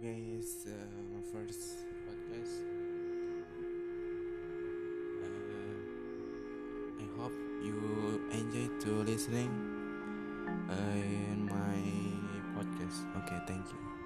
guys, my first podcast. I hope you enjoy to listening in my podcast. Okay, thank you.